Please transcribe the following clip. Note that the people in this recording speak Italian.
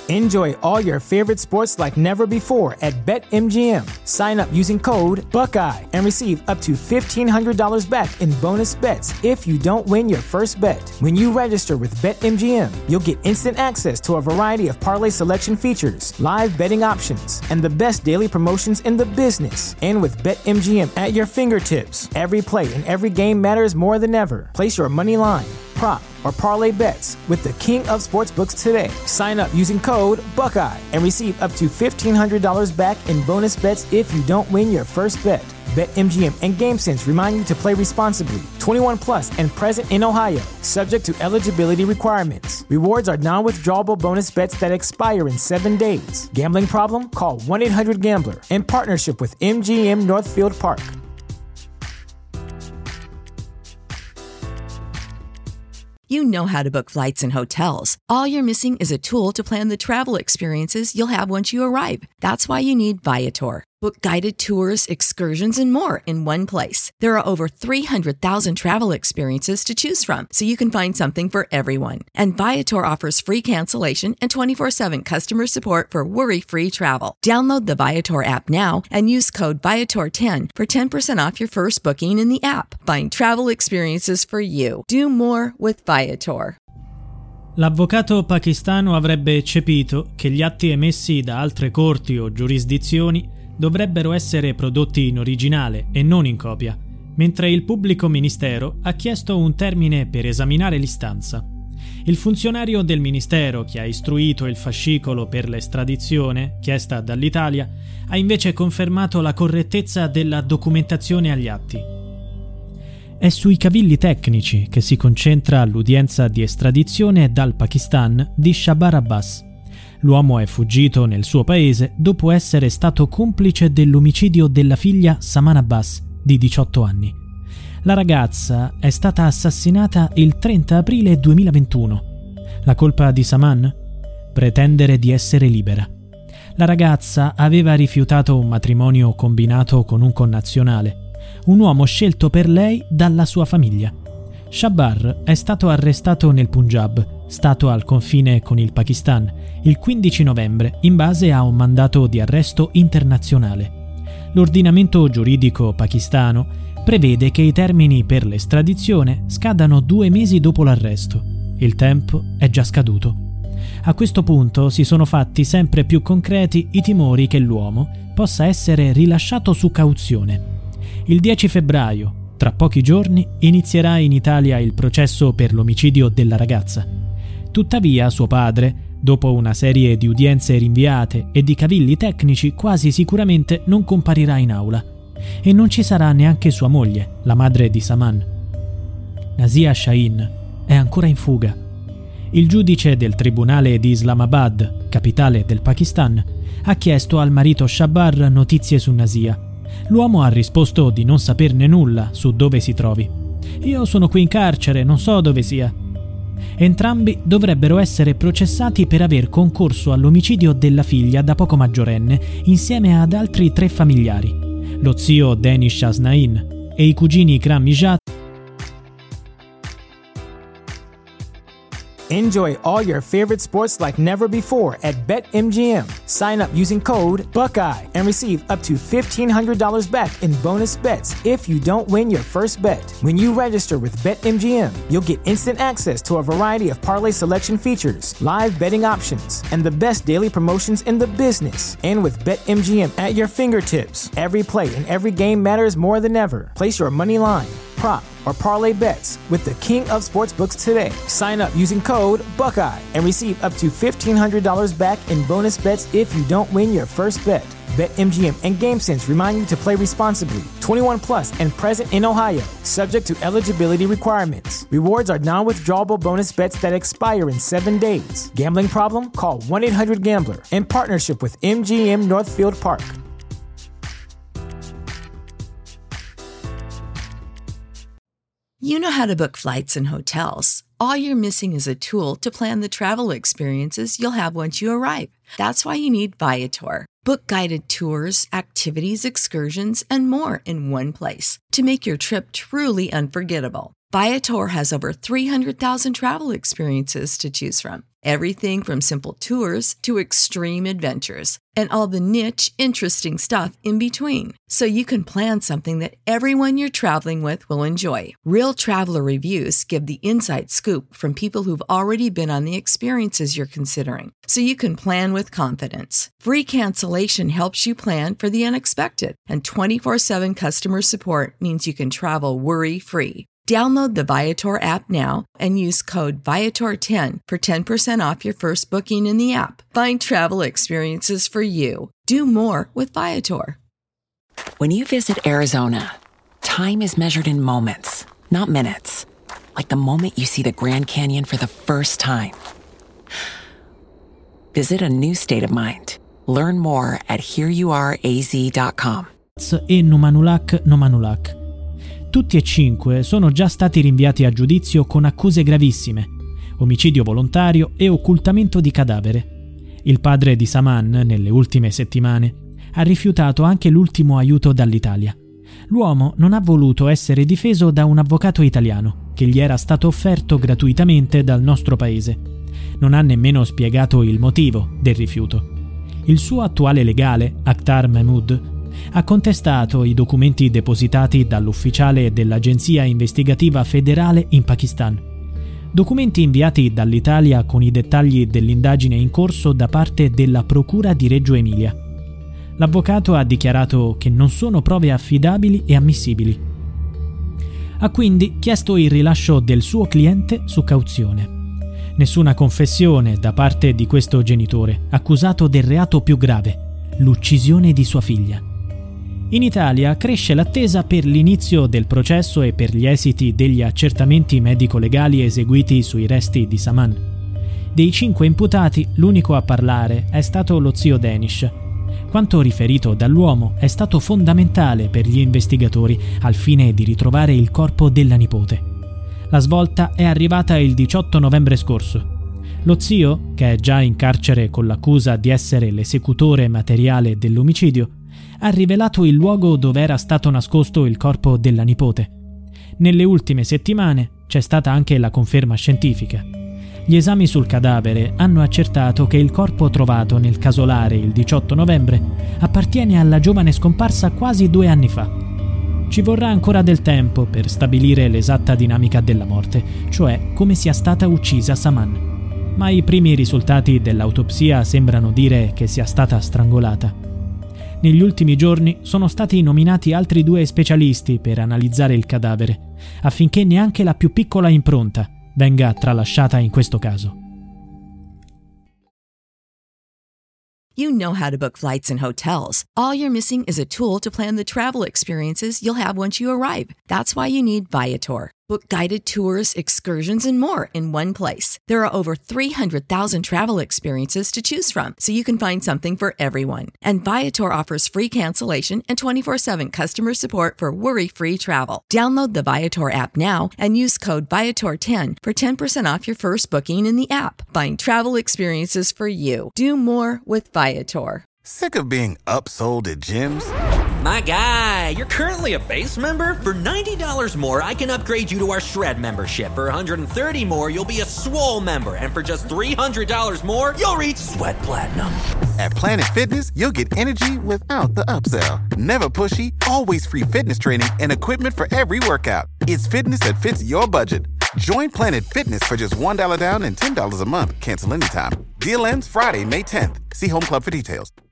Enjoy all your favorite sports like never before at BetMGM. Sign up using code Buckeye and receive up to $1,500 back in bonus bets if you don't win your first bet. When you register with BetMGM, you'll get instant access to a variety of parlay selection features, live betting options, and the best daily promotions in the business. And with BetMGM at your fingertips, every play and every game matters more than ever. Place your money line, prop, or parlay bets with the king of sportsbooks today. Sign up using code Buckeye and receive up to $1,500 back in bonus bets if you don't win your first bet. BetMGM and GameSense remind you to play responsibly. 21 plus and present in Ohio, subject to eligibility requirements. Rewards are non-withdrawable bonus bets that expire in 7 days. Gambling problem? Call 1-800-GAMBLER. In partnership with MGM Northfield Park. You know how to book flights and hotels. All you're missing is a tool to plan the travel experiences you'll have once you arrive. That's why you need Viator. Book guided tours, excursions, and more in one place. There are over 300,000 travel experiences to choose from, so you can find something for everyone. And Viator offers free cancellation and 24/7 customer support for worry-free travel. Download the Viator app now and use code Viator10 for 10% off your first booking in the app. Find travel experiences for you. Do more with Viator. L'avvocato pakistano avrebbe eccepito che gli atti emessi da altre corti o giurisdizioni dovrebbero essere prodotti in originale e non in copia, mentre il pubblico ministero ha chiesto un termine per esaminare l'istanza. Il funzionario del ministero che ha istruito il fascicolo per l'estradizione chiesta dall'Italia ha invece confermato la correttezza della documentazione agli atti. È sui cavilli tecnici che si concentra l'udienza di estradizione dal Pakistan di Shabar Abbas. L'uomo è fuggito nel suo paese dopo essere stato complice dell'omicidio della figlia Saman Abbas, di 18 anni. La ragazza è stata assassinata il 30 aprile 2021. La colpa di Saman? Pretendere di essere libera. La ragazza aveva rifiutato un matrimonio combinato con un connazionale, un uomo scelto per lei dalla sua famiglia. Shabar è stato arrestato nel Punjab, stato al confine con il Pakistan, il 15 novembre in base a un mandato di arresto internazionale. L'ordinamento giuridico pakistano prevede che i termini per l'estradizione scadano 2 mesi dopo l'arresto. Il tempo è già scaduto. A questo punto si sono fatti sempre più concreti i timori che l'uomo possa essere rilasciato su cauzione. Il 10 febbraio, tra pochi giorni, inizierà in Italia il processo per l'omicidio della ragazza. Tuttavia, suo padre, dopo una serie di udienze rinviate e di cavilli tecnici, quasi sicuramente non comparirà in aula. E non ci sarà neanche sua moglie, la madre di Saman. Nazia Shaheen è ancora in fuga. Il giudice del tribunale di Islamabad, capitale del Pakistan, ha chiesto al marito Shabar notizie su Nazia. L'uomo ha risposto di non saperne nulla su dove si trovi. Io sono qui in carcere, non so dove sia. Entrambi dovrebbero essere processati per aver concorso all'omicidio della figlia da poco maggiorenne insieme ad altri 3 familiari, lo zio Danish Asnain e i cugini Ikram Mijat. Enjoy all your favorite sports like never before at BetMGM. Sign up using code Buckeye and receive up to $1,500 back in bonus bets if you don't win your first bet. When you register with BetMGM, you'll get instant access to a variety of parlay selection features, live betting options, and the best daily promotions in the business. And with BetMGM at your fingertips, every play and every game matters more than ever. Place your money line, prop, or parlay bets with the king of sportsbooks today. Sign up using code Buckeye and receive up to $1,500 back in bonus bets if you don't win your first bet. BetMGM and GameSense remind you to play responsibly. 21 plus and present in Ohio, subject to eligibility requirements. Rewards are non-withdrawable bonus bets that expire in 7 days. Gambling problem? Call 1-800-GAMBLER. In partnership with MGM Northfield Park. You know how to book flights and hotels. All you're missing is a tool to plan the travel experiences you'll have once you arrive. That's why you need Viator. Book guided tours, activities, excursions, and more in one place to make your trip truly unforgettable. Viator has over 300,000 travel experiences to choose from. everything from simple tours to extreme adventures, and all the niche, interesting stuff in between. So you can plan something that everyone you're traveling with will enjoy. Real traveler reviews give the inside scoop from people who've already been on the experiences you're considering. So you can plan with confidence. Free cancellation helps you plan for the unexpected. And 24/7 customer support means you can travel worry-free. Download the Viator app now and use code Viator10 for 10% off your first booking in the app. Find travel experiences for you. Do more with Viator. When you visit Arizona, time is measured in moments, not minutes. Like the moment you see the Grand Canyon for the first time. Visit a new state of mind. Learn more at hereyouareaz.com. E Numanulak Nomanulak. Tutti e 5 sono già stati rinviati a giudizio con accuse gravissime: omicidio volontario e occultamento di cadavere. Il padre di Saman, nelle ultime settimane, ha rifiutato anche l'ultimo aiuto dall'Italia. L'uomo non ha voluto essere difeso da un avvocato italiano, che gli era stato offerto gratuitamente dal nostro paese. Non ha nemmeno spiegato il motivo del rifiuto. Il suo attuale legale, Akhtar Mahmood, ha contestato i documenti depositati dall'ufficiale dell'Agenzia Investigativa Federale in Pakistan. Documenti inviati dall'Italia con i dettagli dell'indagine in corso da parte della Procura di Reggio Emilia. L'avvocato ha dichiarato che non sono prove affidabili e ammissibili. Ha quindi chiesto il rilascio del suo cliente su cauzione. Nessuna confessione da parte di questo genitore, accusato del reato più grave, l'uccisione di sua figlia. In Italia cresce l'attesa per l'inizio del processo e per gli esiti degli accertamenti medico-legali eseguiti sui resti di Saman. Dei 5 imputati, l'unico a parlare è stato lo zio Danish. Quanto riferito dall'uomo è stato fondamentale per gli investigatori al fine di ritrovare il corpo della nipote. La svolta è arrivata il 18 novembre scorso. Lo zio, che è già in carcere con l'accusa di essere l'esecutore materiale dell'omicidio, ha rivelato il luogo dove era stato nascosto il corpo della nipote. Nelle ultime settimane c'è stata anche la conferma scientifica. Gli esami sul cadavere hanno accertato che il corpo trovato nel casolare il 18 novembre appartiene alla giovane scomparsa quasi 2 anni fa. Ci vorrà ancora del tempo per stabilire l'esatta dinamica della morte, cioè come sia stata uccisa Saman. Ma i primi risultati dell'autopsia sembrano dire che sia stata strangolata. Negli ultimi giorni sono stati nominati altri 2 specialisti per analizzare il cadavere, affinché neanche la più piccola impronta venga tralasciata in questo caso. You know how to book flights and hotels. All you're missing is a tool to plan the travel experiences you'll have once you arrive. That's why you need Viator. Book guided tours, excursions, and more in one place. There are over 300,000 travel experiences to choose from, so you can find something for everyone. And Viator offers free cancellation and 24/7 customer support for worry-free travel. Download the Viator app now and use code Viator10 for 10% off your first booking in the app. Find travel experiences for you. Do more with Viator. Sick of being upsold at gyms? My guy, you're currently a base member? For $90 more, I can upgrade you to our Shred membership. For $130 more, you'll be a Swole member. And for just $300 more, you'll reach Sweat Platinum. At Planet Fitness, you'll get energy without the upsell. Never pushy, always free fitness training and equipment for every workout. It's fitness that fits your budget. Join Planet Fitness for just $1 down and $10 a month. Cancel anytime. Deal ends Friday, May 10th. See Home Club for details.